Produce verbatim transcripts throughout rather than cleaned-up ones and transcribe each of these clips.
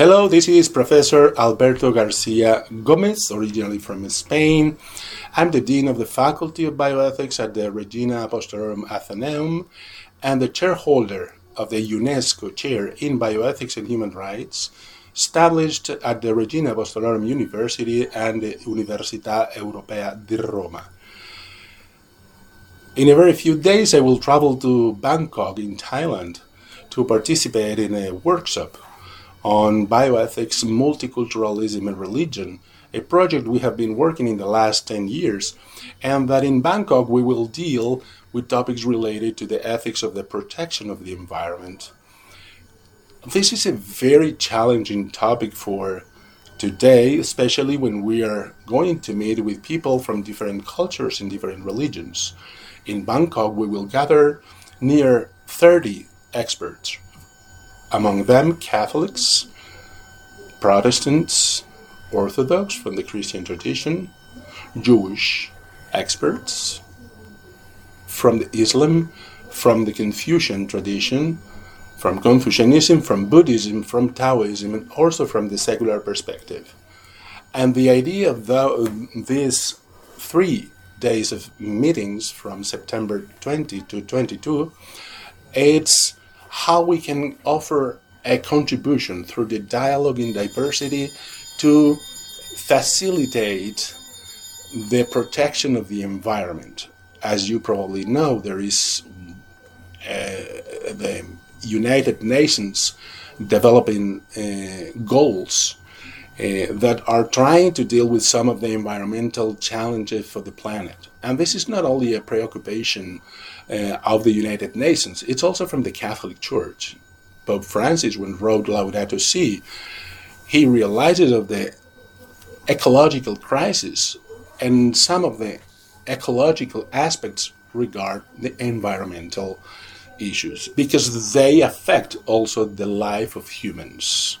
Hello, this is Professor Alberto Garcia Gomez, originally from Spain. I'm the Dean of the Faculty of Bioethics at the Regina Apostolorum Athenaeum and the chairholder of the UNESCO Chair in Bioethics and Human Rights, established at the Regina Apostolorum University and the Università Europea di Roma. In a very few days, I will travel to Bangkok in Thailand to participate in a workshop on bioethics, multiculturalism, and religion, a project we have been working in the last ten years, and that in Bangkok we will deal with topics related to the ethics of the protection of the environment. This is a very challenging topic for today, especially when we are going to meet with people from different cultures and different religions. In Bangkok, we will gather near thirty experts, among them Catholics, Protestants, Orthodox from the Christian tradition, Jewish experts, from the Islam, from the Confucian tradition, from Confucianism, from Buddhism, from Taoism, and also from the secular perspective. And the idea of the, these three days of meetings from September twentieth to twenty-second, it's how we can offer a contribution through the dialogue in diversity to facilitate the protection of the environment. As you probably know, there is uh, the United Nations developing uh, goals uh, that are trying to deal with some of the environmental challenges for the planet. And this is not only a preoccupation uh, of the United Nations, it's also from the Catholic Church. Pope Francis, when wrote Laudato Si, he realizes of the ecological crisis, and some of the ecological aspects regard the environmental issues, because they affect also the life of humans.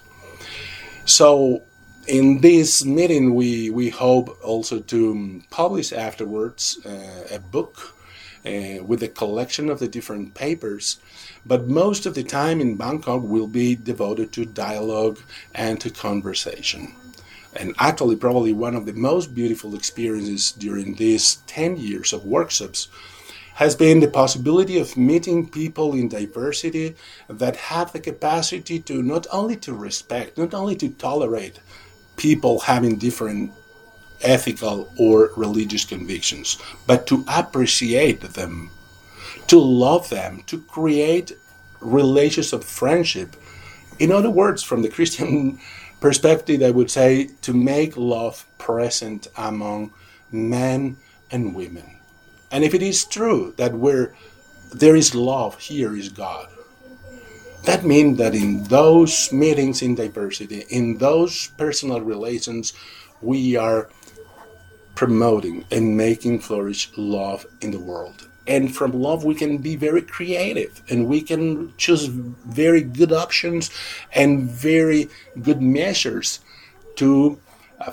So in this meeting, we, we hope also to publish afterwards uh, a book uh, with a collection of the different papers, but most of the time in Bangkok will be devoted to dialogue and to conversation. And actually, probably one of the most beautiful experiences during these ten years of workshops has been the possibility of meeting people in diversity that have the capacity to not only to respect, not only to tolerate people having different ethical or religious convictions, but to appreciate them, to love them, to create relations of friendship. In other words, from the Christian perspective, I would say to make love present among men and women. And if it is true that where there is love, here is God, that means that in those meetings in diversity, in those personal relations, we are promoting and making flourish love in the world. And from love, we can be very creative, and we can choose very good options and very good measures to uh,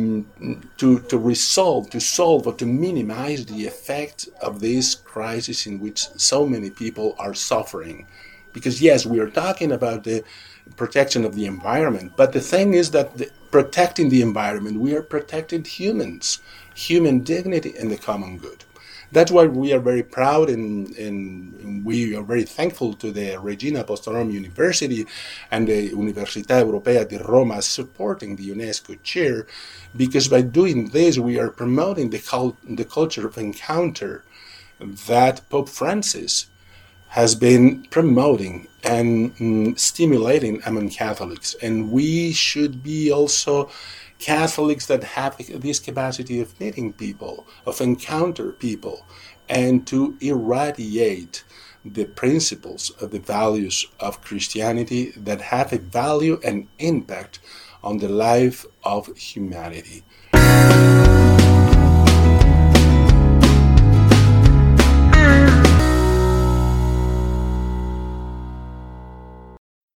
to to resolve, to solve, or to minimize the effect of this crisis in which so many people are suffering. Because yes, we are talking about the protection of the environment, but the thing is that the, protecting the environment, we are protecting humans, human dignity, and the common good. That's why we are very proud and, and we are very thankful to the Regina Apostolorum University and the Università Europea di Roma supporting the UNESCO chair, because by doing this we are promoting the, cult, the culture of encounter that Pope Francis has been promoting and mm, stimulating among Catholics. And we should be also Catholics that have this capacity of meeting people, of encounter people, and to irradiate the principles of the values of Christianity that have a value and impact on the life of humanity.